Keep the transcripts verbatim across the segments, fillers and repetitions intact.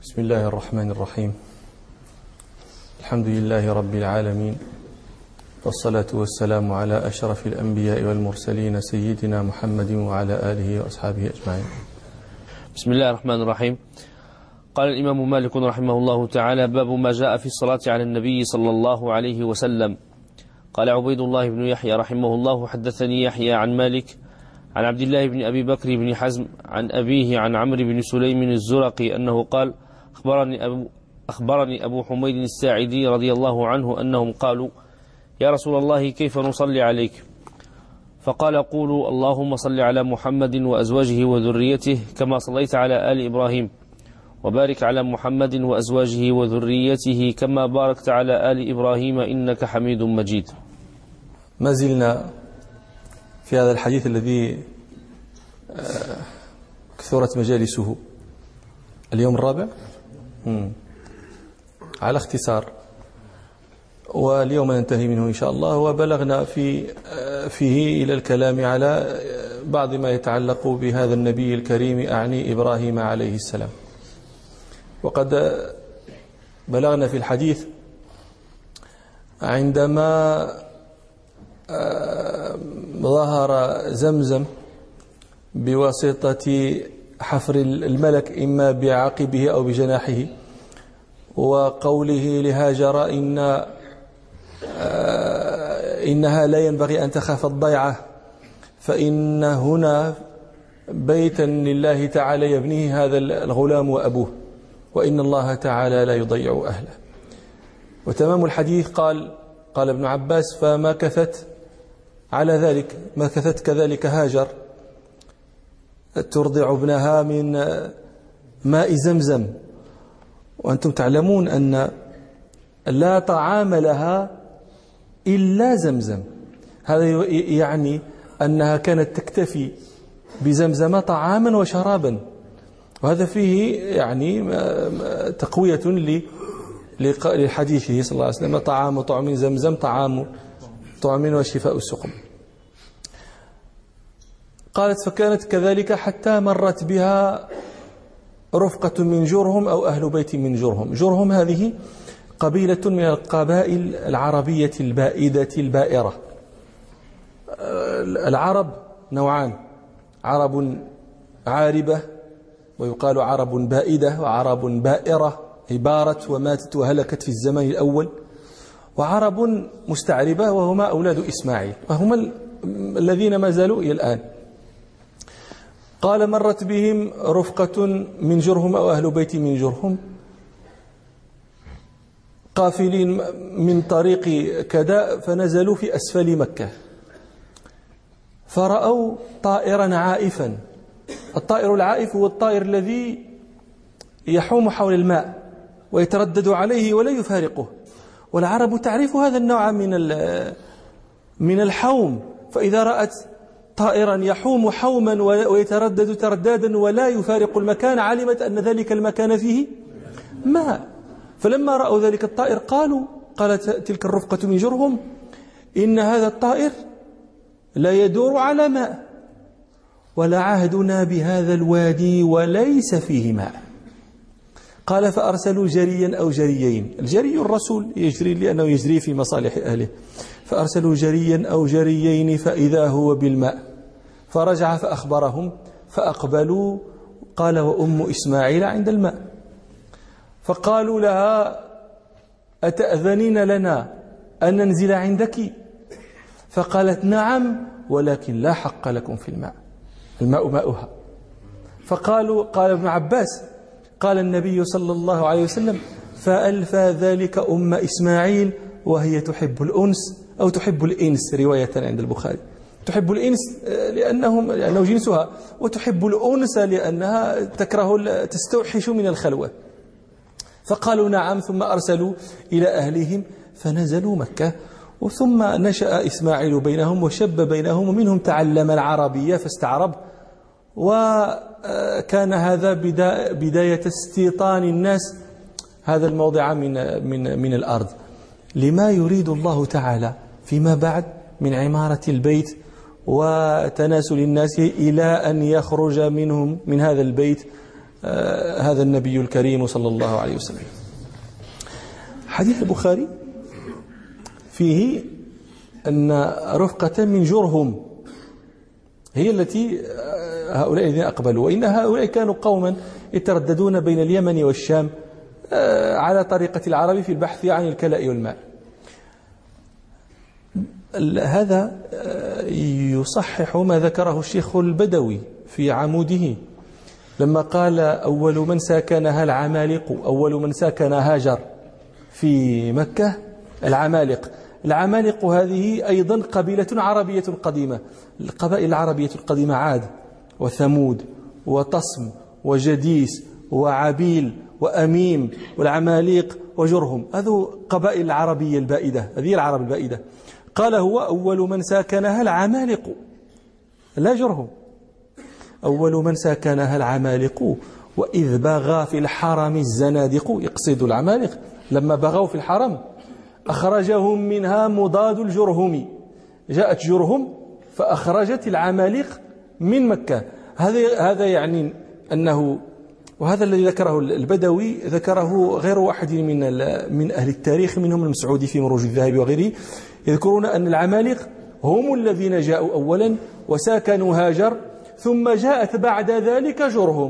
بسم الله الرحمن الرحيم. الحمد لله رب العالمين، والصلاة والسلام على أشرف الأنبياء والمرسلين سيدنا محمد وعلى آله وأصحابه أجمعين. بسم الله الرحمن الرحيم. قال الإمام مالك رحمه الله تعالى: باب ما جاء في الصلاة على النبي صلى الله عليه وسلم. قال عبيد الله بن يحيى رحمه الله: حدثني يحيى عن مالك عن عبد الله بن أبي بكر بن حزم عن أبيه عن عمرو بن سليم الزرقي أنه قال: أخبرني أبو, أخبرني أبو حميد الساعدي رضي الله عنه أنهم قالوا: يا رسول الله، كيف نصلي عليك؟ فقال: قولوا اللهم صل على محمد وأزواجه وذريته كما صليت على آل إبراهيم، وبارك على محمد وأزواجه وذريته كما باركت على آل إبراهيم إنك حميد مجيد. ما زلنا في هذا الحديث الذي كثرت مجالسه، اليوم الرابع مم. على اختصار، واليوم ننتهي منه إن شاء الله. وبلغنا في فيه إلى الكلام على بعض ما يتعلق بهذا النبي الكريم، أعني إبراهيم عليه السلام. وقد بلغنا في الحديث عندما ظهر زمزم بواسطة حفر الملك إما بعقبه أو بجناحه، وقوله لهاجر إن إنها لا ينبغي أن تخاف الضيعة، فإن هنا بيتا لله تعالى يبنيه هذا الغلام وأبوه، وإن الله تعالى لا يضيع أهله. وتمام الحديث قال قال ابن عباس: فمكثت على ذلك، مكثت كذلك هاجر ترضع ابنها من ماء زمزم. وأنتم تعلمون أن لا طعام لها إلا زمزم، هذا يعني أنها كانت تكتفي بزمزم طعاما وشرابا، وهذا فيه يعني تقوية لحديثه صلى الله عليه وسلم: طعام طعم زمزم طعام طعم وشفاء السقم. قالت: فكانت كذلك حتى مرت بها رفقة من جرهم أو أهل بيت من جرهم. جرهم هذه قبيلة من القبائل العربية البائدة البائرة. العرب نوعان: عرب عاربة ويقال عرب بائدة، وعرب بائرة هي بارت وماتت وهلكت في الزمن الأول، وعرب مستعربة وهما أولاد إسماعيل، وهما الذين ما زالوا إلى الآن. قال: مرت بهم رفقة من جرهم أو أهل بيت من جرهم قافلين من طريق كذا، فنزلوا في أسفل مكة، فرأوا طائرا عائفا. الطائر العائف هو الطائر الذي يحوم حول الماء ويتردد عليه ولا يفارقه، والعرب تعرف هذا النوع من من الحوم، فإذا رأت طائرا يحوم حوما ويتردد تردادا ولا يفارق المكان، علمت أن ذلك المكان فيه ماء. فلما رأوا ذلك الطائر قالوا قالت تلك الرفقة من جرهم: إن هذا الطائر لا يدور على ماء، ولا عهدنا بهذا الوادي وليس فيه ماء. قال: فأرسلوا جريا أو جريين. الجري الرسول يجري لأنه يجري في مصالح أهله، فأرسلوا جريا أو جريين فإذا هو بالماء، فرجع فأخبرهم فأقبلوا. قال: وأم إسماعيل عند الماء. فقالوا لها: أتأذنين لنا أن ننزل عندك؟ فقالت: نعم، ولكن لا حق لكم في الماء، الماء ماؤها. فقالوا قال ابن عباس: قال النبي صلى الله عليه وسلم: فألفى ذلك أم إسماعيل وهي تحب الأنس أو تحب الإنس، رواية عند البخاري. تحب الإنس لأنهم لأنه جنسها، وتحب الأنس لأنها تكره تستوحش من الخلوة. فقالوا: نعم. ثم أرسلوا إلى أهلهم فنزلوا مكة، وثم نشأ إسماعيل بينهم وشب بينهم، ومنهم تعلم العربية فاستعرب، وكان هذا بداية استيطان الناس هذا الموضع من من من الأرض، لما يريد الله تعالى فيما بعد من عمارة البيت وتناسل الناس إلى أن يخرج منهم من هذا البيت هذا النبي الكريم صلى الله عليه وسلم. حديث البخاري فيه أن رفقة من جرهم هي التي هؤلاء الذين أقبلوا، وإن هؤلاء كانوا قوما يترددون بين اليمن والشام على طريقة العرب في البحث عن الكلاء والماء. هذا يصحح ما ذكره الشيخ البدوي في عموده لما قال أول من ساكنها العمالقة، أول من ساكن هاجر في مكة العمالقة. العمالقة هذه أيضا قبيلة عربية قديمة. القبائل العربية القديمة عاد وثمود وطصم وجديس وعبيل وأميم والعماليق وجرهم، هذو قبائل العربية البائدة، هذه العرب البائدة. قال هو أول من ساكنها العمالقة لا جرهم، أول من ساكنها العمالقة وإذ بغى في الحرم الزنادق، يقصد العمالقة لما بغوا في الحرم أخرجهم منها مضاد الجرهم، جاءت جرهم فأخرجت العمالقة من مكة. هذا هذا يعني أنه، وهذا الذي ذكره البدوي ذكره غير واحد من من أهل التاريخ منهم المسعودي في مروج الذهب وغيره، يذكرون أن العمالقة هم الذين جاءوا أولا وساكنوا هاجر، ثم جاءت بعد ذلك جرهم،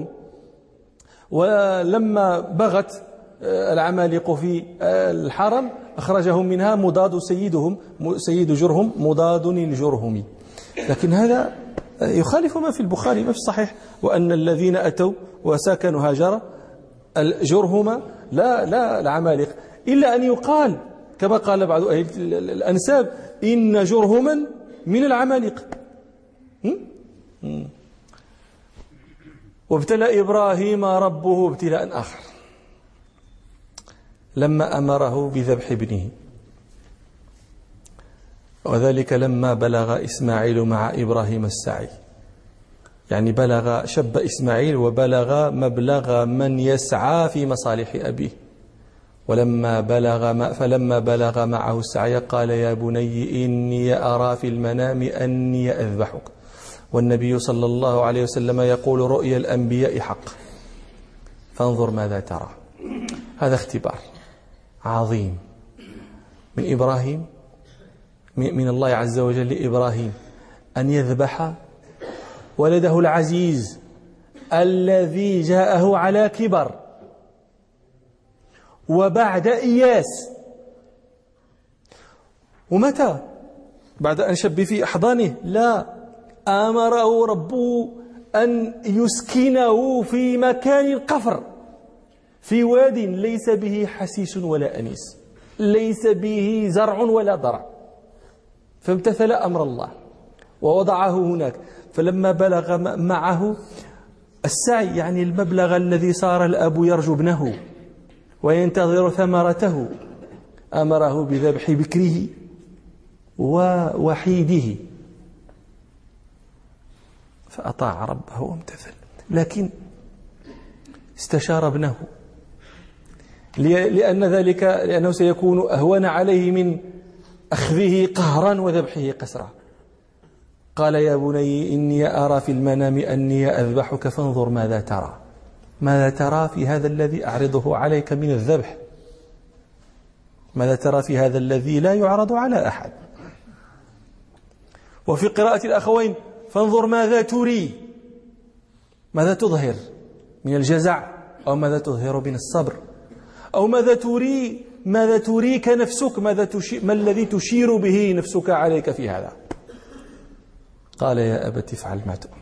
ولما بغت العمالقة في الحرم أخرجهم منها مضاد سيدهم سيد جرهم مضاد الجرهمي. لكن هذا يخالف ما في البخاري ما في الصحيح، وأن الذين أتوا وساكنوا هاجر الجرهم لا لا العمالقة، إلا أن يقال كما قال بعض أهل الأنساب إن جرهما من العمالقة. وابتلى إبراهيم ربه ابتلاء آخر لما أمره بذبح ابنه، وذلك لما بلغ إسماعيل مع إبراهيم السعي، يعني بلغ شب إسماعيل وبلغ مبلغ من يسعى في مصالح أبيه، ولما بلغ فلما بلغ معه السعي قال يا بني إني أرى في المنام أني أذبحك. والنبي صلى الله عليه وسلم يقول رؤيا الأنبياء حق فانظر ماذا ترى. هذا اختبار عظيم من إبراهيم، من الله عز وجل لإبراهيم أن يذبح ولده العزيز الذي جاءه على كبر وبعد إياس. ومتى؟ بعد أن شب في أحضانه؟ لا، أمره ربه أن يسكنه في مكان القفر في واد ليس به حسيس ولا أنيس، ليس به زرع ولا ضرع، فامتثل أمر الله ووضعه هناك. فلما بلغ معه السعي، يعني المبلغ الذي صار الأب يرجو ابنه وينتظر ثمرته، أمره بذبح بكره ووحيده، فأطاع ربه وامتثل. لكن استشار ابنه لأن ذلك لأنه سيكون أهون عليه من أخذه قهرا وذبحه قسرا. قال يا بني إني أرى في المنام أني أذبحك فانظر ماذا ترى. ماذا ترى في هذا الذي أعرضه عليك من الذبح؟ ماذا ترى في هذا الذي لا يعرض على أحد؟ وفي قراءة الأخوين فانظر ماذا تري، ماذا تظهر من الجزع، أو ماذا تظهر من الصبر، أو ماذا تري ماذا تريك نفسك، ماذا تشي ما الذي تشير به نفسك عليك في هذا. قال يا أبت افعل ما تؤمر،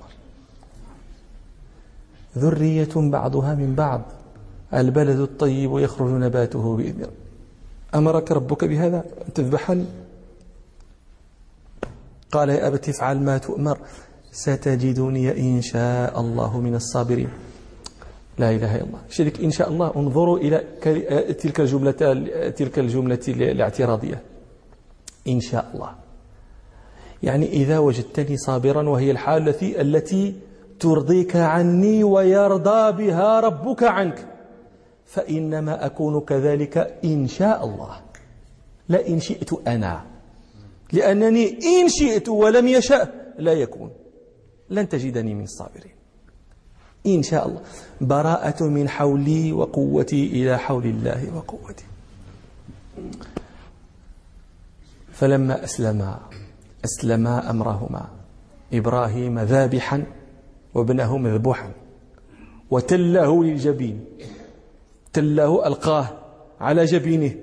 ذرية بعضها من بعض، البلد الطيب يخرج نباته بإذن ربه. أمرك ربك بهذا أن تذبحني؟ قال يا أبت افعل ما تؤمر ستجدني إن شاء الله من الصابرين. لا إله إلا الله. شرك إن شاء الله. انظروا إلى تلك الجملة تلك الجملة الاعتراضية، إن شاء الله، يعني إذا وجدتني صابرا، وهي الحال التي التي ترضيك عني ويرضى بها ربك عنك، فإنما أكون كذلك إن شاء الله، لا إن شئت أنا، لأنني إن شئت ولم يشأ لا يكون، لن تجدني من الصابرين. إن شاء الله. براءة من حولي وقوتي إلى حول الله وقوتي. فلما أسلما أسلما أمرهما، إبراهيم ذابحا وابنه مذبوحا، وتله للجبين، تله ألقاه على جبينه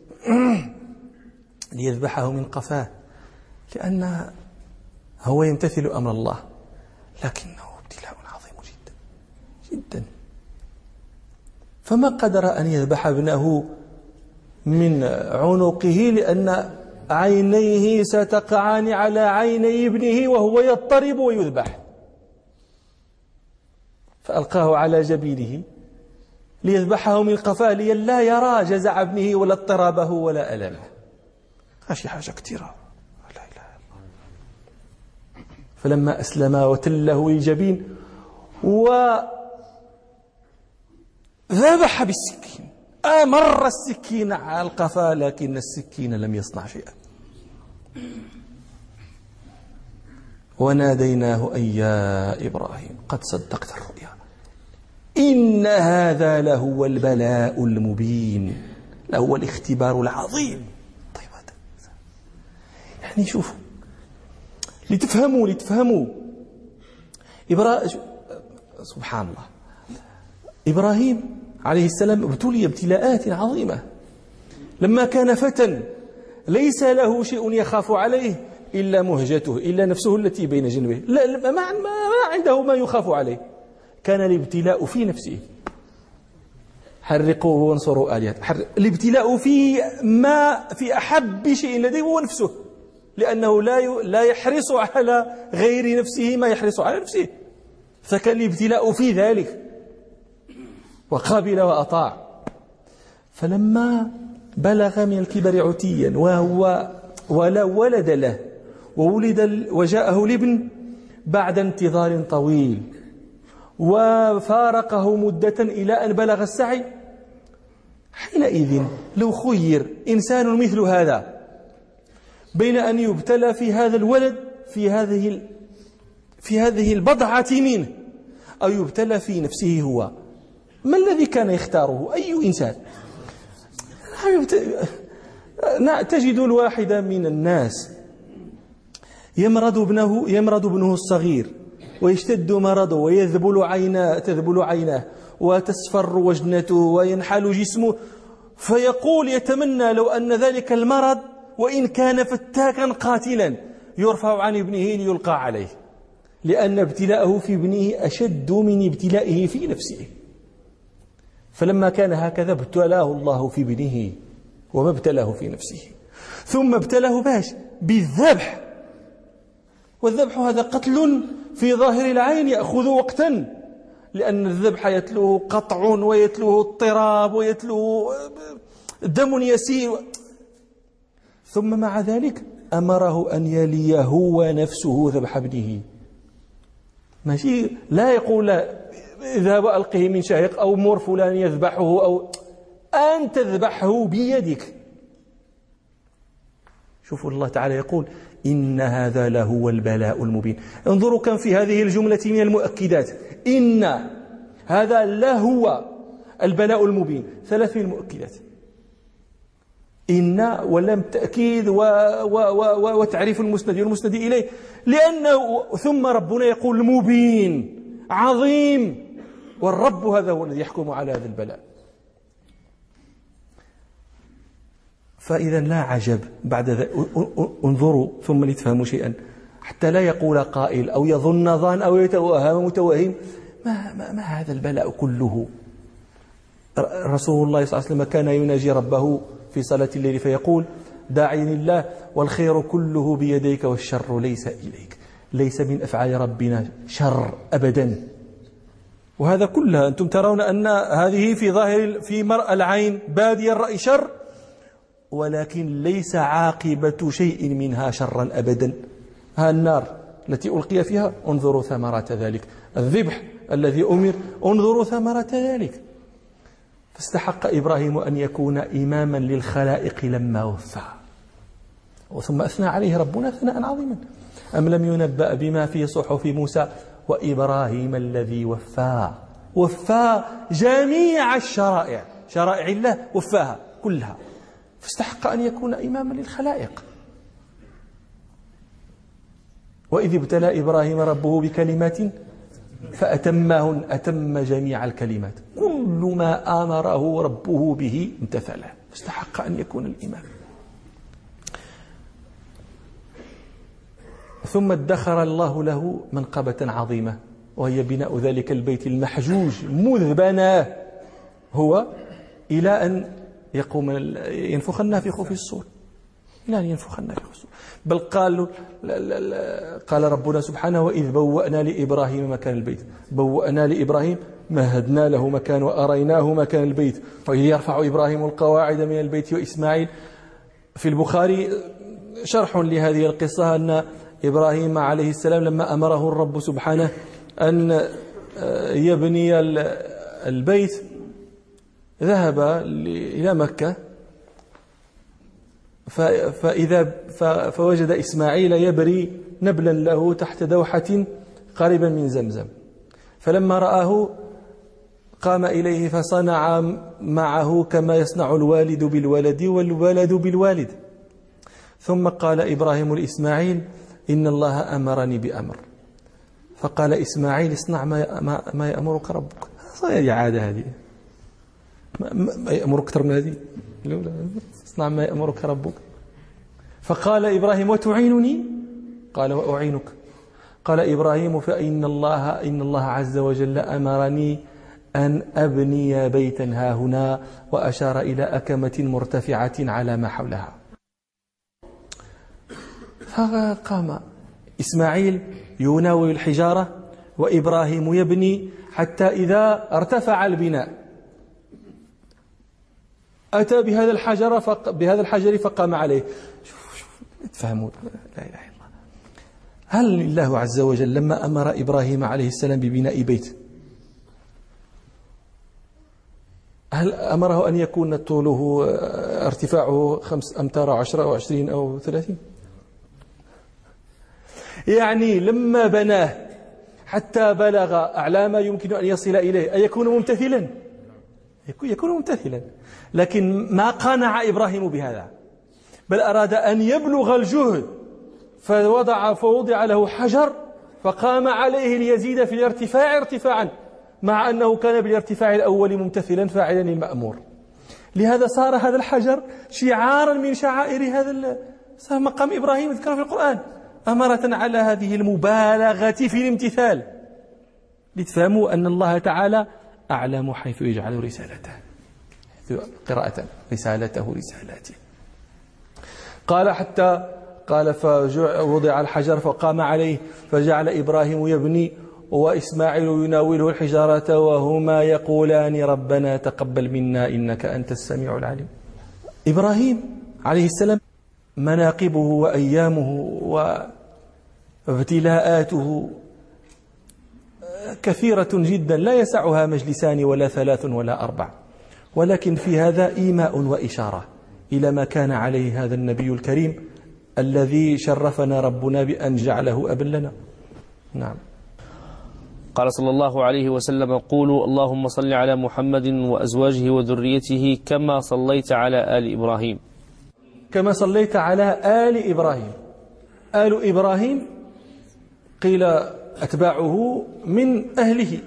ليذبحه من قفاه، لأن هو يمتثل أمر الله، لكنه ابتلاء عظيم جدا جدا. فما قدر أن يذبح ابنه من عنقه لأن عينيه ستقعان على عيني ابنه وهو يضطرب ويذبح، فألقاه على جبينه ليذبحه من قفاه لئلا يرى جزع ابنه ولا اضطرابه ولا ألمه. هذه حاجة كثيرة. لا إله إلا الله. فلما أسلما وتله للجبين وذبح بالسكين، أمر السكين على القفا لكن السكين لم يصنع شيئا. وناديناه أن يا إبراهيم قد صدقت الرؤيا إن هذا لهو البلاء المبين، لهو الاختبار العظيم. طيب هذا يعني شوفوا لتفهموا لتفهموا إبراهيم سبحان الله. إبراهيم عليه السلام ابتلي ابتلاءات عظيمة. لما كان فتى ليس له شيء يخاف عليه إلا مهجته، إلا نفسه التي بين جنبه، لا ما, ما عنده ما يخاف عليه. كان الابتلاء في نفسه، حرقوه وانصروا آلهته. الابتلاء في ما في أحب شيء لديه هو نفسه، لأنه لا لا يحرص على غير نفسه ما يحرص على نفسه، فكان الابتلاء في ذلك وقابل وأطاع. فلما بلغ من الكبر عتيا وهو ولا ولد له وولد وجاءه الابن بعد انتظار طويل وفارقه مدة إلى أن بلغ السعي، حينئذ لو خير إنسان مثل هذا بين أن يبتلى في هذا الولد في هذه في هذه البضعة منه أو يبتلى في نفسه هو، ما الذي كان يختاره أي إنسان؟ تجد الواحد من الناس يمرض ابنه يمرض ابنه الصغير ويشتد مرضه ويذبل عيناه تذبل عيناه وتصفر وجنته وينحل جسمه، فيقول يتمنى لو أن ذلك المرض وإن كان فتاكا قاتلا يرفع عن ابنه ليلقى عليه، لأن ابتلاءه في ابنه أشد من ابتلائه في نفسه. فلما كان هكذا ابتلاه الله في ابنه وما ابتلاه في نفسه، ثم ابتلاه باش بالذبح، والذبح هذا قتل في ظاهر العين يأخذ وقتا، لأن الذبح يتلوه قطع ويتلوه اضطراب ويتلوه دم يسير، ثم مع ذلك أمره أن يلي هو نفسه ذبح ابنه. ماشي لا يقول اذهب ألقه من شاهق أو مر فلان يذبحه، أو أن تذبحه بيدك. شوفوا الله تعالى يقول إن هذا لهو البلاء المبين. انظروا كم في هذه الجملة من المؤكدات. إن هذا لهو البلاء المبين، ثلاث من المؤكدات، إن ولم تأكيد و و و وتعريف المسند والمسند إليه، لأنه ثم ربنا يقول مبين عظيم، والرب هذا هو الذي يحكم على هذا البلاء. فإذا لا عجب بعد ذلك. انظروا ثم لتفهموا شيئا، حتى لا يقول قائل أو يظن ظان أو يتوهم متوهم ما, ما, ما هذا البلاء كله. رسول الله صلى الله عليه وسلم كان يناجي ربه في صلاة الليل فيقول داعيني الله والخير كله بيديك والشر ليس إليك. ليس من أفعال ربنا شر أبدا، وهذا كلها أنتم ترون أن هذه في ظاهر في مرأى العين بادي الرأي شر، ولكن ليس عاقبة شيء منها شرا أبدا. ها النار التي ألقي فيها انظروا ثمرات ذلك، الذبح الذي أمر انظروا ثمرات ذلك. فاستحق إبراهيم أن يكون إماما للخلائق لما وفى، وثم أثنى عليه ربنا ثناء عظيما. أم لم ينبأ بما في صحف موسى وإبراهيم الذي وفى وفى جميع الشرائع، شرائع الله وفاها كلها، فاستحق أن يكون إماما للخلائق. وإذ ابتلى إبراهيم ربه بكلمات فأتمهن، أتم جميع الكلمات، كل ما أمره ربه به امتثله، فاستحق أن يكون الإمام. ثم ادخر الله له منقبة عظيمة، وهي بناء ذلك البيت المحجوج مذ بناه هو إلى أن يقوم ينفخ النافخ في الصور، إلى أن ينفخ النافخ في الصور. بل قال قال ربنا سبحانه: وإذ بوأنا لإبراهيم مكان البيت، بوأنا لإبراهيم مهدنا له مكان وأريناه مكان البيت، وإذ يرفع إبراهيم القواعد من البيت وإسماعيل. في البخاري شرح لهذه القصة أن إبراهيم عليه السلام لما أمره الرب سبحانه أن يبني البيت ذهب إلى مكة، فإذا فوجد إسماعيل يبري نبلا له تحت دوحة قريبا من زمزم، فلما رآه قام إليه فصنع معه كما يصنع الوالد بالولد والولد بالوالد. ثم قال إبراهيم لإسماعيل: إن الله أمرني بأمر. فقال إسماعيل: اصنع ما, ما يأمرك ربك. هذه عادة، هذه ما يأمرك أكثر من هذه، اصنع ما يأمرك ربك. فقال إبراهيم: وتعينني؟ قال: وأعينك. قال إبراهيم: فإن الله إن الله عز وجل أمرني أن أبني بيتا هاهنا، وأشار إلى أكمة مرتفعة على ما حولها. فقام إسماعيل يناول الحجارة وإبراهيم يبني، حتى إذا ارتفع البناء أتى بهذا الحجر فق... بهذا الحجر فقام عليه. شوفوا شوفوا تفهموا، لا إله إلا الله. هل الله عز وجل لما أمر إبراهيم عليه السلام ببناء بيت، هل أمره أن يكون طوله ارتفاعه خمس أمتار عشرة أو عشرين أو ثلاثين؟ يعني لما بناه حتى بلغ أعلى ما يمكن أن يصل إليه أيكون ممتثلا؟ يكون ممتثلا، لكن ما قانع إبراهيم بهذا، بل أراد أن يبلغ الجهد، فوضع فوضع له حجر فقام عليه ليزيد في الارتفاع ارتفاعا، مع أنه كان بالارتفاع الأول ممتثلا فاعلا المأمور. لهذا صار هذا الحجر شعارا من شعائر هذا صار مقام إبراهيم ذكر في القرآن، أمرة على هذه المبالغة في الامتثال، لتفهموا أن الله تعالى أعلم حيث يجعل رسالته، قراءة رسالته رسالاته. قال حتى قال فوضع الحجر فقام عليه، فجعل إبراهيم يبني وإسماعيل يناوله الحجارة وهما يقولان ربنا تقبل منا إنك أنت السميع العليم. إبراهيم عليه السلام مناقبه وأيامه وابتلاءاته كثيرة جدا لا يسعها مجلسان ولا ثلاث ولا أربع، ولكن في هذا إيماء وإشارة إلى ما كان عليه هذا النبي الكريم الذي شرفنا ربنا بأن جعله أبا لنا. نعم. قال صلى الله عليه وسلم: قولوا اللهم صل على محمد وأزواجه وذريته كما صليت على آل إبراهيم. كما صليت على آل إبراهيم. آل إبراهيم قيل أتباعه من أهله،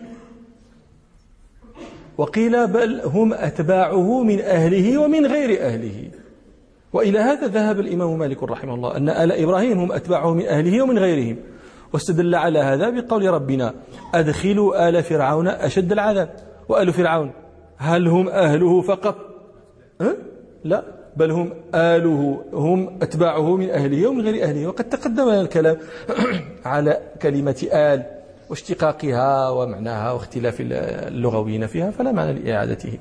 وقيل بل هم أتباعه من أهله ومن غير أهله. وإلى هذا ذهب الإمام مالك رحمه الله، أن آل إبراهيم هم أتباعه من أهله ومن غيرهم، واستدل على هذا بقول ربنا: أدخلوا آل فرعون أشد العذاب. وآل فرعون هل هم أهله فقط؟ أه؟ لا، بل هم آله، هم أتباعه من أهله ومن غير أهله. وقد تقدم الكلام على كلمة آل واشتقاقها ومعناها واختلاف اللغويين فيها، فلا معنى لإعادته.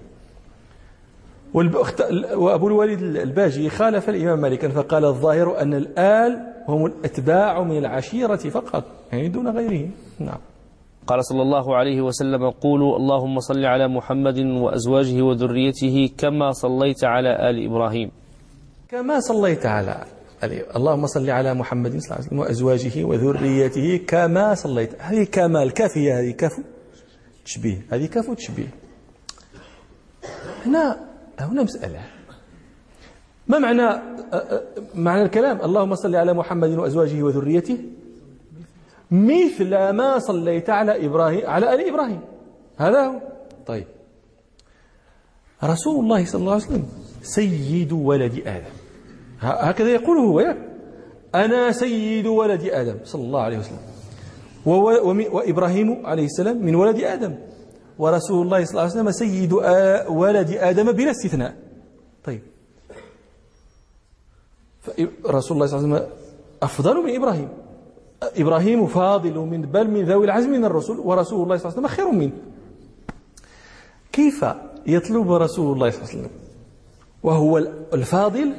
وأبو الوليد الباجي خالف الإمام مالكا فقال: الظاهر أن الآل هم الأتباع من العشيرة فقط، يعني دون غيرهم. نعم. قال صلى الله عليه وسلم: قولوا اللهم صل على محمد وأزواجه وذريته كما صليت على آل إبراهيم. كما صليت على اللهم صل على محمد صلى الله عليه وسلم وأزواجه وذريته كما صليت. هذه كما الكافية، هذه كاف تشبيه، هذه كاف تشبيه. هنا هنا مسألة، ما معنى معنى الكلام اللهم صل على محمد وأزواجه وذريته مثل ما صليت على إبراهيم على آل إبراهيم؟ هذا هو. طيب، رسول الله صلى الله عليه وسلم سيد ولد آدم، هكذا يقول هو، أنا سيد ولد آدم صلى الله عليه وسلم، وإبراهيم عليه السلام من ولد آدم، ورسول الله صلى الله عليه وسلم سيد ولد آدم بلا استثناء. طيب، رسول الله صلى الله عليه وسلم أفضل من إبراهيم، إبراهيم فاضل من بل من ذوي العزم من الرسل، ورسول الله صلى الله عليه وسلم خير منه. كيف يطلب رسول الله صلى الله عليه وسلم وهو الفاضل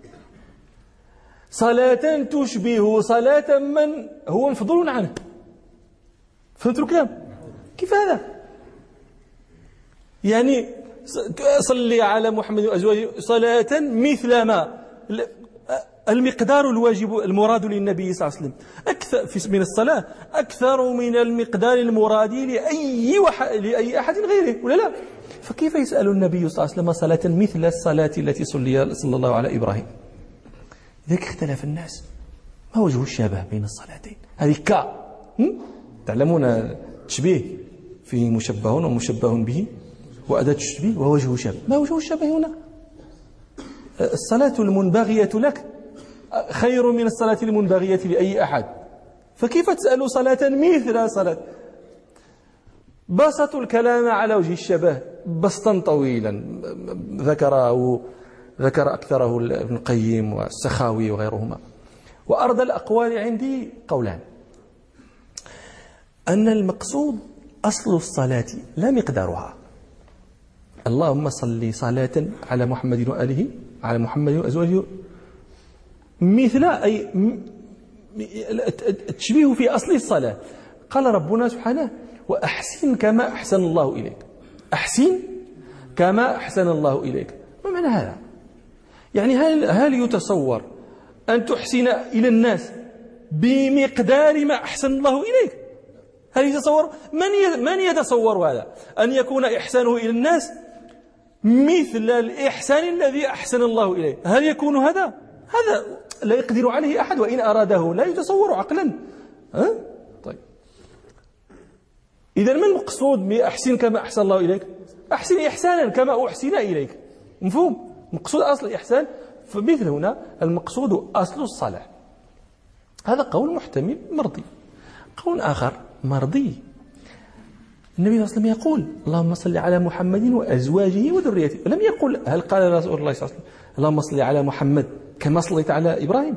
صلاة تشبه صلاة من هو مفضول عنه؟ فهمتوا الكلام؟ كيف هذا؟ يعني صلي على محمد وأزواجه صلاة مثل ما المقدار الواجب المراد للنبي صلى الله عليه وسلم أكثر من الصلاة أكثر من المقدار المراد لأي وح... لأي أحد غيره، ولا لا؟ فكيف يسأل النبي صلى الله عليه وسلم صلاة مثل الصلاة التي صلي صلى الله على إبراهيم؟ ذلك اختلف الناس، ما وجه الشبه بين الصلاتين؟ هذه كا تعلمون التشبيه فيه مشبه ومشبه به وأداة التشبيه ووجه الشبه. ما وجه الشبه هنا؟ الصلاة المنبغية لك خير من الصلاة المنبغية لأي أحد، فكيف تسأل صلاة مثل صلاة؟ بسطوا الكلام على وجه الشبه بسطا طويلا ذكره ذكر أكثره ابن القيم والسخاوي وغيرهما. وأرض الأقوال عندي قولان: أن المقصود أصل الصلاة لا مقدارها. اللهم صل صلاة على محمد وآله على محمد وأزواجه مثل أي التشبيه في أصل الصلاة. قال ربنا سبحانه: وأحسن كما أحسن الله إليك. أحسن كما أحسن الله إليك، ما معنى هذا؟ يعني هل هل يتصور أن تحسن إلى الناس بمقدار ما أحسن الله إليك؟ هل يتصور؟ من من يتصور هذا؟ أن يكون إحسانه إلى الناس مثل الإحسان الذي أحسن الله إليه؟ هل يكون هذا؟ هذا لا يقدر عليه أحد، وإن أراده لا يتصور عقلا. ها؟ طيب، إذا ما المقصود بأحسن كما أحسن الله إليك؟ أحسن إحسانا كما أحسن إليك، مفهوم؟ مقصود أصل الإحسان، فمثل هنا المقصود أصل الصلاة. هذا قول محتمل مرضي. قول آخر مرضي، النبي صلى الله عليه وسلم يقول: اللهم صل على محمد وأزواجه وذريته. لم يقل هل قال رسول الله صلى الله عليه وسلم اللهم صل على محمد كما صليت على إبراهيم؟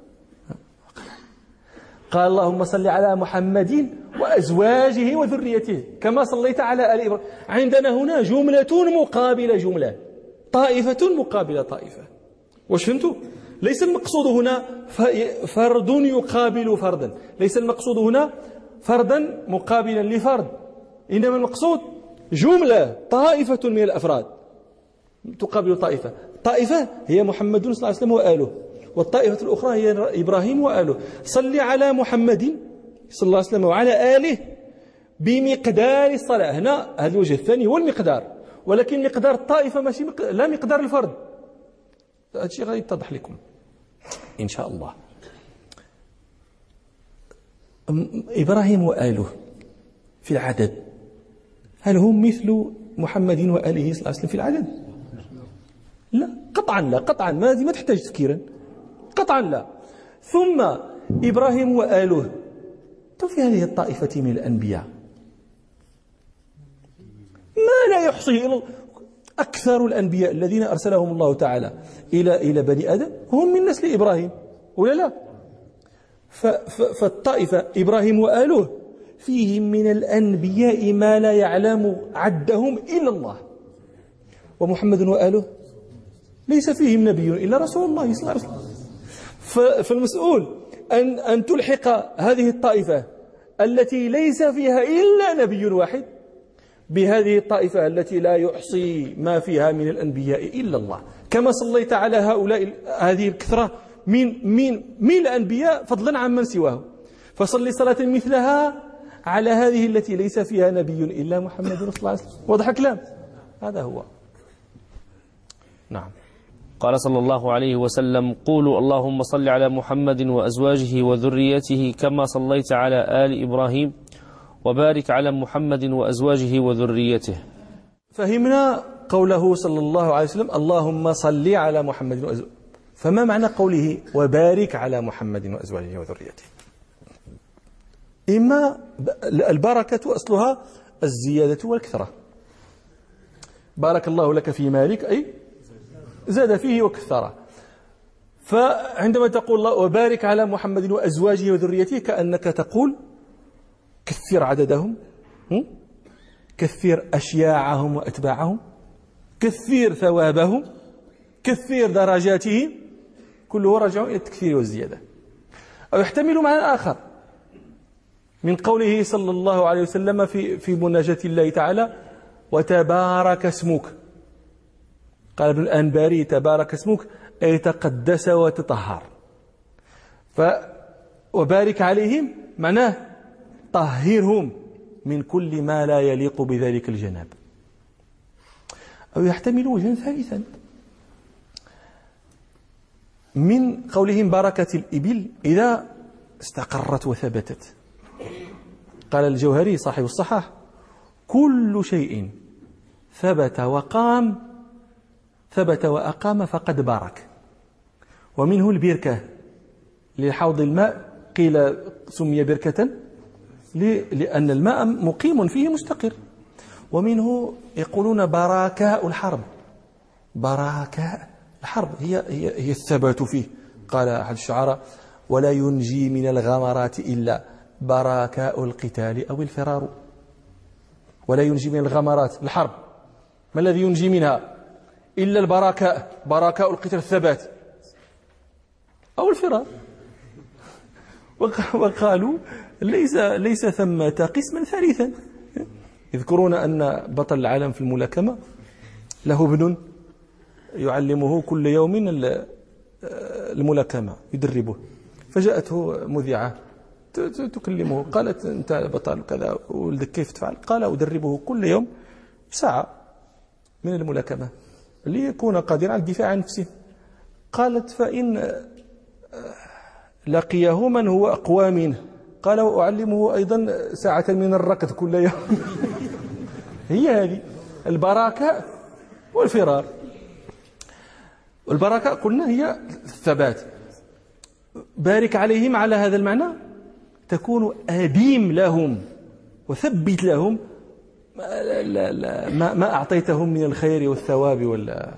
قال: اللهم صل على محمد وأزواجه وذريته كما صليت على آل إبراهيم. عندنا هنا جملة مقابلة جملة، طائفة مقابلة طائفة. واش فهمتوا؟ ليس المقصود هنا فرد يقابل فردا، ليس المقصود هنا فردا مقابلا لفرد، إنما المقصود جملة، طائفة من الأفراد تقابل طائفة. طائفة هي محمد صلى الله عليه وسلم وآله، والطائفة الأخرى هي إبراهيم وآله. صل على محمد صلى الله عليه وسلم وعلى آله بمقدار الصلاة. هنا هذا الوجه الثاني هو المقدار، ولكن مقدار الطائفة ماشي مق... لا مقدار الفرد. هذا الشيء غادي يتضح لكم إن شاء الله. إبراهيم وآله في العدد هل هم مثل محمد وآله صلى الله عليه وسلم في العدد؟ لا، قطعا لا، قطعا ما هذه ما تحتاج تفكيرا، قطعا لا. ثم إبراهيم وآله في هذه الطائفة من الأنبياء ما لا يحصيه أكثر الأنبياء الذين أرسلهم الله تعالى إلى إلى بني آدم هم من نسل إبراهيم، ولا لا؟ فالطائفة إبراهيم وآله فيهم من الأنبياء ما لا يعلم عدهم إلا الله، ومحمد وآله ليس فيهم نبي إلا رسول الله صلى الله عليه وسلم. فالمسؤول أن أن تلحق هذه الطائفة التي ليس فيها إلا نبي واحد بهذه الطائفة التي لا يحصي ما فيها من الأنبياء إلا الله. كما صليت على هؤلاء هذه الكثرة من من من الأنبياء فضلا عن من سواه. فصل صلاة مثلها على هذه التي ليس فيها نبي إلا محمد صلى الله عليه وسلم. واضح الكلام؟ هذا هو. نعم. قال صلى الله عليه وسلم: قولوا اللهم صل على محمد وأزواجه وذريته كما صليت على آل إبراهيم وبارك على محمد وأزواجه وذريته. فهمنا قوله صلى الله عليه وسلم اللهم صل على محمد وأزواجه. فما معنى قوله وبارك على محمد وأزواجه وذريته؟ إما البركة أصلها الزيادة والكثرة. بارك الله لك في مالك أي زاد فيه وكثره. فعندما تقول الله وبارك على محمد وأزواجه وذريته كأنك تقول كثر عددهم، كثر أشياعهم وأتباعهم، كثر ثوابهم، كثر درجاتهم، كله راجع إلى التكثير والزيادة. أو يحتمل معنى آخر من قوله صلى الله عليه وسلم في في مناجاة الله تعالى وتبارك اسمك. قال ابن الأنباري تبارك اسمك أي تقدس وتطهر. ف وبارك عليهم معناه طهرهم من كل ما لا يليق بذلك الجناب. أو يحتمل وجها ثالثا من قولهم بركة الإبل إذا استقرت وثبتت. قال الجوهري صاحب الصحاح كل شيء ثبت وقام ثبت وأقام فقد بارك. ومنه البركة لحوض الماء قيل سمي بركة لأن الماء مقيم فيه مستقر. ومنه يقولون براكاء الحرب. براكاء الحرب هي, هي, هي الثبات فيه. قال أحد الشعراء ولا ينجي من الغمرات إلا براكاء القتال أو الفرار. ولا ينجي من الغمرات الحرب ما الذي ينجي منها إلا البراكاء، براكاء القتال الثبات أو الفرار. وقالوا ليس ليس ثمة قسما ثالثا. يذكرون أن بطل العالم في الملاكمة له ابن يعلمه كل يوم الملاكمة يدربه. فجاءته مذيعة تكلمه قالت أنت بطل كذا ولدك كيف تفعل؟ قال أدربه كل يوم ساعة من الملاكمة ليكون قادرا على الدفاع عن نفسه. قالت فإن لقيه من هو أقوى منه قال وأعلمه أيضا ساعة من الركض كل يوم. هي هذه البراكة والفرار. والبراكة قلنا هي الثبات. بارك عليهم على هذا المعنى تكون أديم لهم وثبت لهم لا لا ما, ما أعطيتهم من الخير والثواب ولا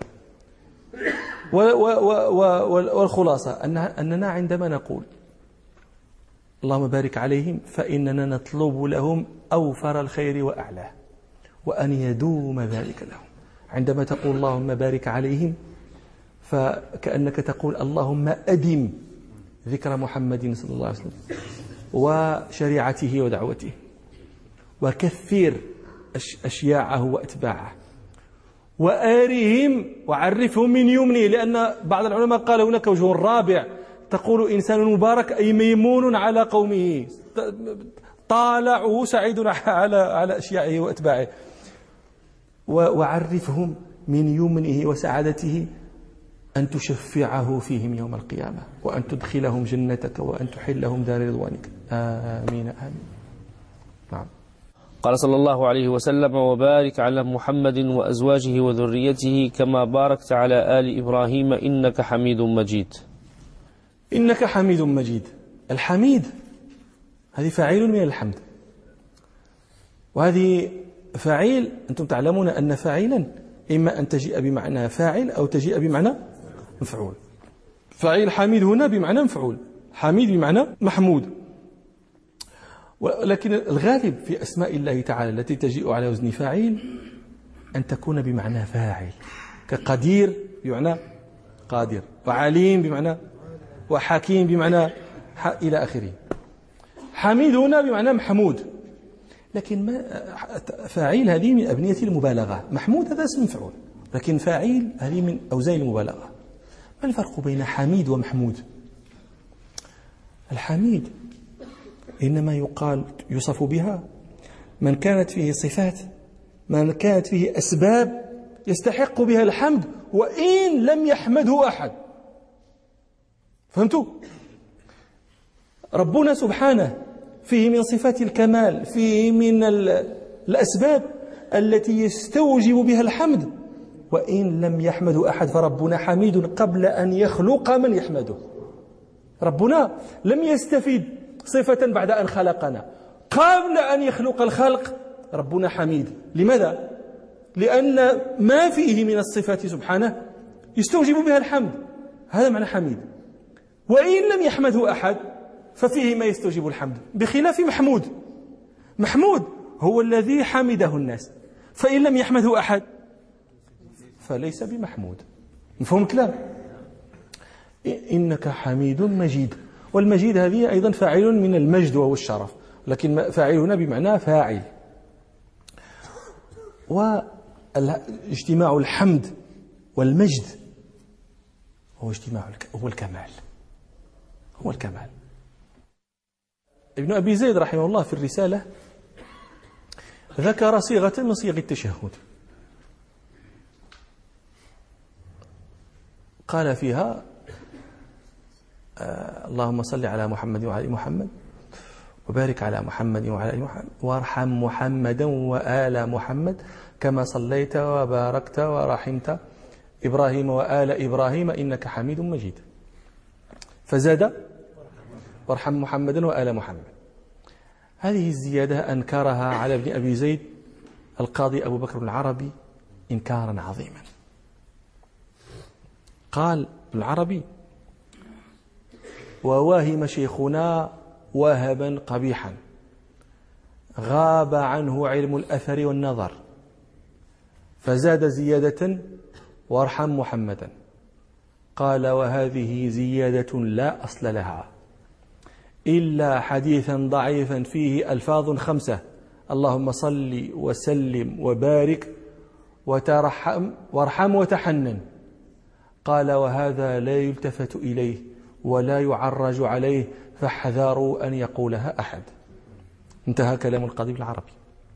والخلاصة أن أننا عندما نقول اللهم بارك عليهم فإننا نطلب لهم أوفر الخير وأعلاه وأن يدوم ذلك لهم. عندما تقول اللهم بارك عليهم فكأنك تقول اللهم أدم ذكر محمد صلى الله عليه وسلم وشريعته ودعوته وكثر أشياعه وأتباعه وآرهم وعرفهم من يمنه. لأن بعض العلماء قال هناك وجه رابع تقول إنسان مبارك أي ميمون على قومه طالعه سعيد على على أشياعه وأتباعه. وعرفهم من يمنه وسعادته أن تشفعه فيهم يوم القيامة وأن تدخلهم جنتك وأن تحلهم دار رضوانك. آمين آمين. نعم. قال صلى الله عليه وسلم وبارك على محمد وأزواجه وذريته كما باركت على آل إبراهيم إنك حميد مجيد. إنك حميد مجيد. الحميد هذه فاعل من الحمد، وهذه فاعل أنتم تعلمون أن فاعلا إما أن تجيء بمعنى فاعل أو تجيء بمعنى مفعول. فاعل حميد هنا بمعنى مفعول، حميد بمعنى محمود. ولكن الغالب في أسماء الله تعالى التي تجيء على وزن فاعل أن تكون بمعنى فاعل، كقدير بمعنى قادر، وعليم بمعنى، وحكيم بمعنى إلى آخره. حميد هنا بمعنى محمود، لكن ما فاعل هذه من أبنية المبالغة. محمود هذا اسم مفعول، لكن فاعل هذه من أوزان المبالغة. ما الفرق بين حميد ومحمود؟ الحميد إنما يقال يوصف بها من كانت فيه صفات، من كانت فيه أسباب يستحق بها الحمد وإن لم يحمده أحد. فهمتوا؟ ربنا سبحانه فيه من صفات الكمال، فيه من الأسباب التي يستوجب بها الحمد وإن لم يحمده أحد، فربنا حميد قبل أن يخلق من يحمده. ربنا لم يستفيد صفة بعد أن خلقنا، قبل أن يخلق الخلق ربنا حميد. لماذا؟ لأن ما فيه من الصفات سبحانه يستوجب بها الحمد، هذا معنى حميد. وإن لم يحمده أحد ففيه ما يستوجب الحمد، بخلاف محمود. محمود هو الذي حمده الناس، فإن لم يحمده أحد فليس بمحمود. مفهوم الكلام؟ إنك حميد مجيد، والمجيد هذه أيضا فاعل من المجد وهو الشرف، لكن فاعل هنا بمعنى فاعل. واجتماع الحمد والمجد هو اجتماع هو الكمال، هو الكمال. ابن أبي زيد رحمه الله في الرسالة ذكر صيغة من صيغ التشهد، قال فيها آه اللهم صل على محمد وعلى محمد وبارك على محمد وعلى محمد وارحم محمدا وآل محمد كما صليت وباركت ورحمت إبراهيم وآل إبراهيم إنك حميد مجيد. فزاد وارحم محمدا وآل محمد. هذه الزيادة أنكرها على ابن أبي زيد القاضي أبو بكر العربي إنكارا عظيما. قال العربي: وواهم شيخنا وهبا قبيحا غاب عنه علم الأثر والنظر، فزاد زيادة وارحم محمدا. قال: وهذه زيادة لا أصل لها إلا حديثا ضعيفا فيه ألفاظ خمسة: اللهم صل وسلم وبارك وترحم وارحم وتحنن. قال: وهذا لا يلتفت إليه ولا يعرج عليه، فاحذروا أن يقولها أحد. انتهى كلام القاضي العربي.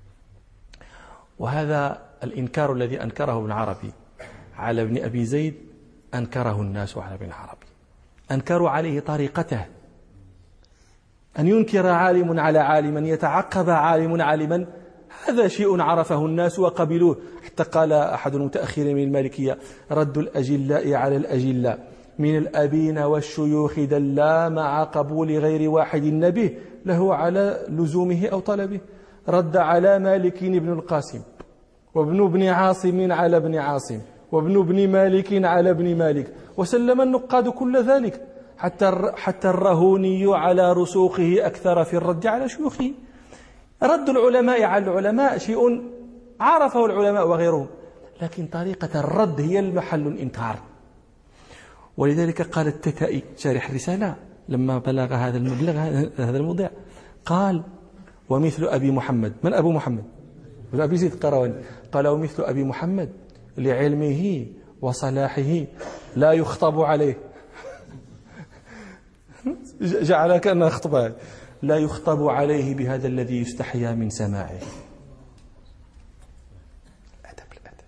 وهذا الإنكار الذي أنكره ابن عربي على ابن أبي زيد أنكره الناس على ابن عربي، أنكروا عليه طريقته. أن ينكر عالم على عالما، يتعقب عالم عالما، هذا شيء عرفه الناس وقبلوه. حتى قال أحد المتأخرين من المالكية: رد الأجلاء على الأجلاء من الأبين والشيوخ دلا مع قبول غير واحد نبه له على لزومه أو طلبه. رد على مالك بن القاسم، وابن ابن عاصم على ابن عاصم، وابن ابن مالك على ابن مالك، وسلم النقاد كل ذلك، حتى حتى الرهوني على رسوخه أكثر في الرد على شيوخه. رد العلماء على العلماء شيء عرفه العلماء وغيرهم، لكن طريقة الرد هي المحل الإنكار. ولذلك قال التتائي شارح الرسالة لما بلغ هذا المبلغ هذا الموضع، قال: ومثل أبي محمد. من أبو محمد؟ ابن أبي زيد القيرواني. قال: ومثل أبي محمد لعلمه وصلاحه لا يخطب عليه. جعل كأنه خطبة. لا يخطب عليه بهذا الذي يستحيا من سماعه. الأدب الأدب.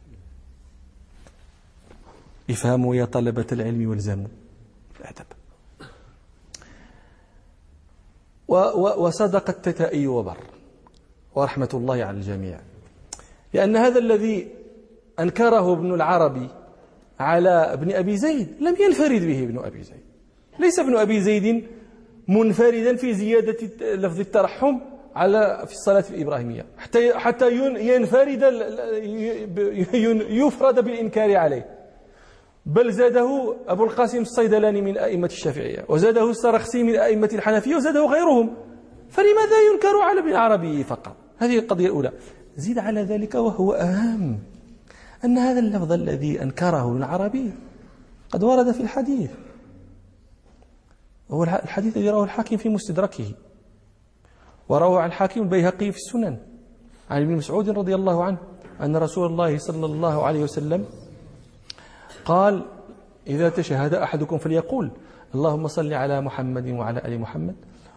افهموا يا طلبة العلم والزموا الأدب. وصدق التتائي وبر، ورحمة الله على الجميع، لأن هذا الذي أنكره ابن العربي على ابن أبي زيد لم ينفرد به ابن أبي زيد. ليس ابن أبي زيد منفردا في زيادة لفظ الترحم على في الصلاة الإبراهيمية حتى حتى ينفرد يفرد بالإنكار عليه، بل زاده أبو القاسم الصيدلاني من أئمة الشافعية، وزاده السرخسي من أئمة الحنفية، وزاده غيرهم. فلماذا ينكر على ابن العربي فقط؟ هذه القضية الأولى. زيد على ذلك وهو أهم أن هذا اللفظ الذي أنكره ابن العربي قد ورد في الحديث، هو الحديث الذي رواه الحاكم في مستدركه، وروى عن الحاكم البيهقي في السنن عن ابن مسعود رضي الله عنه أن رسول الله صلى الله عليه وسلم قال: إذا تشهد أحدكم فليقول اللهم صل على محمد وعلى آل محمد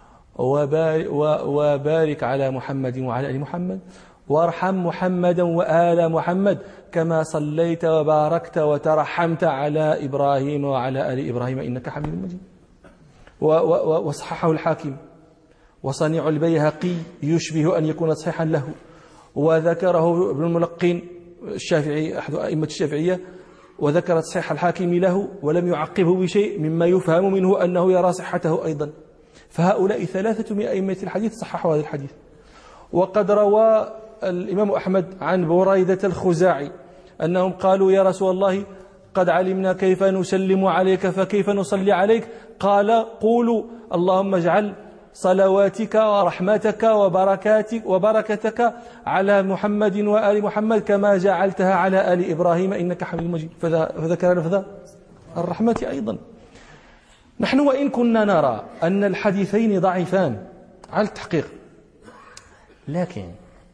وبارك على محمد وعلى آل محمد وارحم محمدا وآل محمد كما صليت وباركت وترحمت على إبراهيم وعلى آل إبراهيم إنك حميد مجيد. وصححه الحاكم وصنيع البيهقي يشبه أن يكون صحيحا له، وذكره ابن الملقين الشافعي أحد أئمة الشافعية وذكر صحيح الحاكم له ولم يعقبه بشيء مما يفهم منه أنه يرى صحته أيضا. فهؤلاء ثلاثة من أئمة الحديث صححوا هذا الحديث. وقد روى الإمام أحمد عن بريدة الخزاعي أنهم قالوا يا رسول الله قد علمنا كيف نسلم عليك فكيف نصلي عليك؟ قال قولوا اللهم اجعل صلواتك ورحمتك وبركاتك وبركتك على محمد وآل محمد كما جعلتها على آل إبراهيم إنك حميد مجيد. فذكر لفظ الرحمة أيضا. نحن وإن كنا نرى أن الحديثين ضعيفان على التحقيق، لكن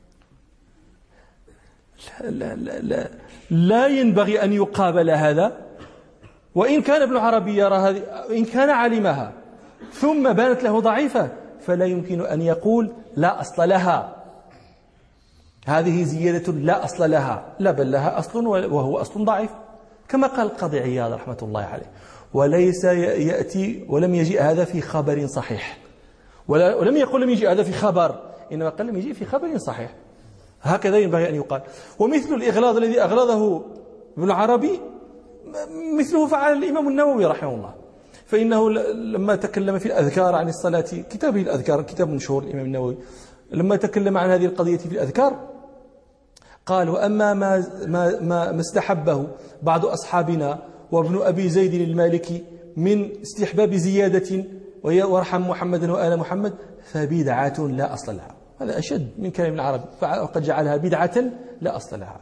لا, لا, لا, لا ينبغي أن يقابل هذا. وإن كان ابن عربي يرى هذه، إن كان علمها ثم بانت له ضعيفة فلا يمكن أن يقول لا أصل لها، هذه زيادة لا أصل لها، لا بل لها أصل وهو أصل ضعيف، كما قال القاضي عياض رحمة الله عليه. وليس يأتي ولم يجيء هذا في خبر صحيح، ولم يقل لم يجيء هذا في خبر، إنما قال لم يجيء في خبر صحيح. هكذا ينبغي أن يقال. ومثل الإغلاظ الذي أغلظه ابن عربي مثله فعل الإمام النووي رحمه الله، فإنه لما تكلم في الأذكار عن الصلاة، كتابه الأذكار كتاب مشهور الإمام النووي، لما تكلم عن هذه القضية في الأذكار قال وأما ما, ما, ما استحبه بعض أصحابنا وابن أبي زيد المالكي من استحباب زيادة وارحم محمدا وآل محمد فبدعة لا أصل لها. هذا أشد من كلام العرب، وقد جعلها بدعة لا أصل لها.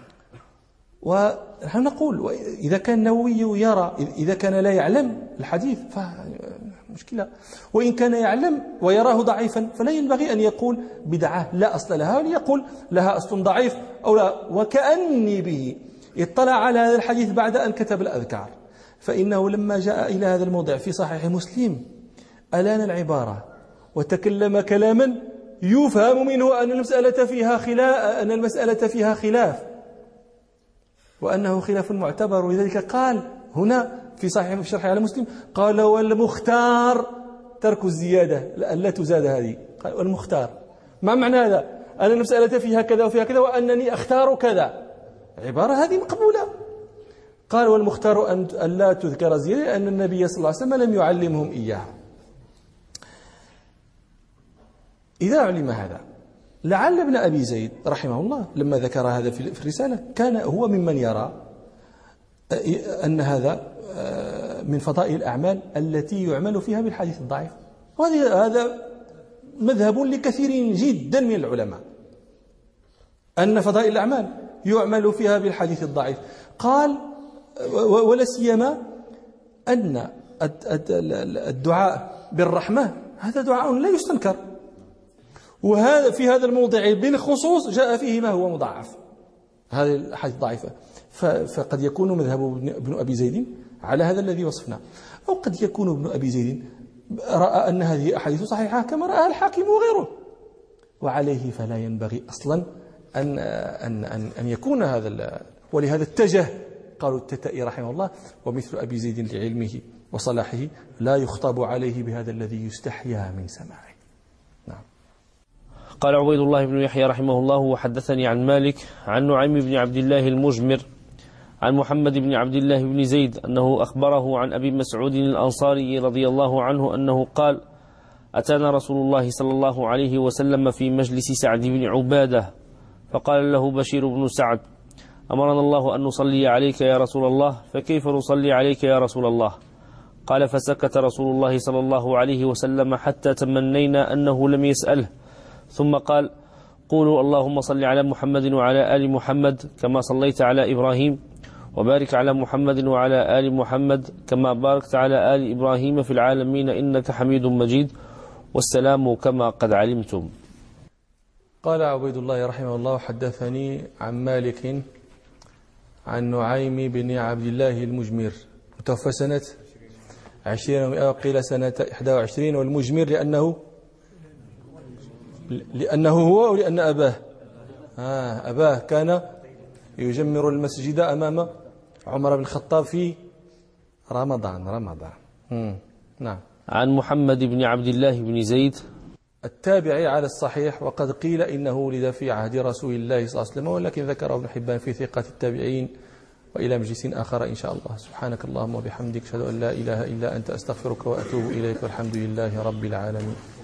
ونحن نقول إذا كان النووي يرى، إذا كان لا يعلم الحديث فمشكلة، وإن كان يعلم ويراه ضعيفا فلا ينبغي أن يقول بدعة لا أصل لها، بل يقول لها أصل ضعيف أو لا. وكأني به اطلع على هذا الحديث بعد أن كتب الأذكار، فإنه لما جاء إلى هذا الموضع في صحيح مسلم ألان العبارة وتكلم كلاما يفهم منه أن المسألة فيها خلاف، أن المسألة فيها خلاف وأنه خلاف معتبر. ولذلك قال هنا في صحيح في شرح على مسلم قال والمختار ترك الزيادة لا تزاد هذه. قال والمختار ما معنى هذا؟ أن المسألة فيها كذا وفيها كذا وأنني أختار كذا، عبارة هذه مقبولة. قال والمختار أن لا تذكر زيادة أن النبي صلى الله عليه وسلم لم يعلمهم إياها. إذا علم هذا لعل ابن أبي زيد رحمه الله لما ذكر هذا في الرسالة كان هو ممن يرى أن هذا من فضائل الأعمال التي يعمل فيها بالحديث الضعيف، وهذا مذهب لكثير جدا من العلماء أن فضائل الأعمال يعمل فيها بالحديث الضعيف. قال ولا سيما أن الدعاء بالرحمة هذا دعاء لا يستنكر، وهذا في هذا الموضع بالخصوص جاء فيه ما هو مضاعف، هذه الأحاديث ضعيفة. فقد يكون مذهب ابن أبي زيد على هذا الذي وصفناه، أو قد يكون ابن أبي زيد رأى أن هذه أحاديث صحيحة كما رأى الحاكم وغيره، وعليه فلا ينبغي أصلا أن أن أن, أن يكون هذا. ولهذا اتجه قالوا التتائي رحمه الله ومثل أبي زيد لعلمه وصلاحه لا يخطب عليه بهذا الذي يستحيا من سماعه. نعم. قال عبيد الله بن يحيى رحمه الله وحدثني عن مالك عن نعيم بن عبد الله المجمر عن محمد بن عبد الله بن زيد أنه أخبره عن أبي مسعود الأنصاري رضي الله عنه أنه قال أتانا رسول الله صلى الله عليه وسلم في مجلس سعد بن عبادة فقال له بشير بن سعد أمرنا الله أن نصلي عليك يا رسول الله فكيف نصلي عليك يا رسول الله؟ قال فسكت رسول الله صلى الله عليه وسلم حتى تمنينا أنه لم يسأله، ثم قال قولوا اللهم صل على محمد وعلى آل محمد كما صليت على إبراهيم وبارك على محمد وعلى آل محمد كما باركت على آل إبراهيم في العالمين إنك حميد مجيد والسلام كما قد علمتم. قال عبيد الله رحمه الله حدثني عن مالك عن نعيم بن عبد الله المجمر توفى سنة عشرين ومئة وقيل سنة إحدى وعشرين. والمجمر لأنه لأنه هو أو لأن أباه آه أباه كان يجمر المسجد أمام عمر بن الخطاب في رمضان رمضان مم. نعم. عن محمد بن عبد الله بن زيد التابعي على الصحيح، وقد قيل إنه ولد في عهد رسول الله صلى الله عليه وسلم، ولكن ذكره ابن حبان في ثقات التابعين. وإلى مجلس آخر إن شاء الله. سبحانك اللهم وبحمدك أشهد أن لا إله إلا أنت أستغفرك وأتوب إليك، والحمد لله رب العالمين.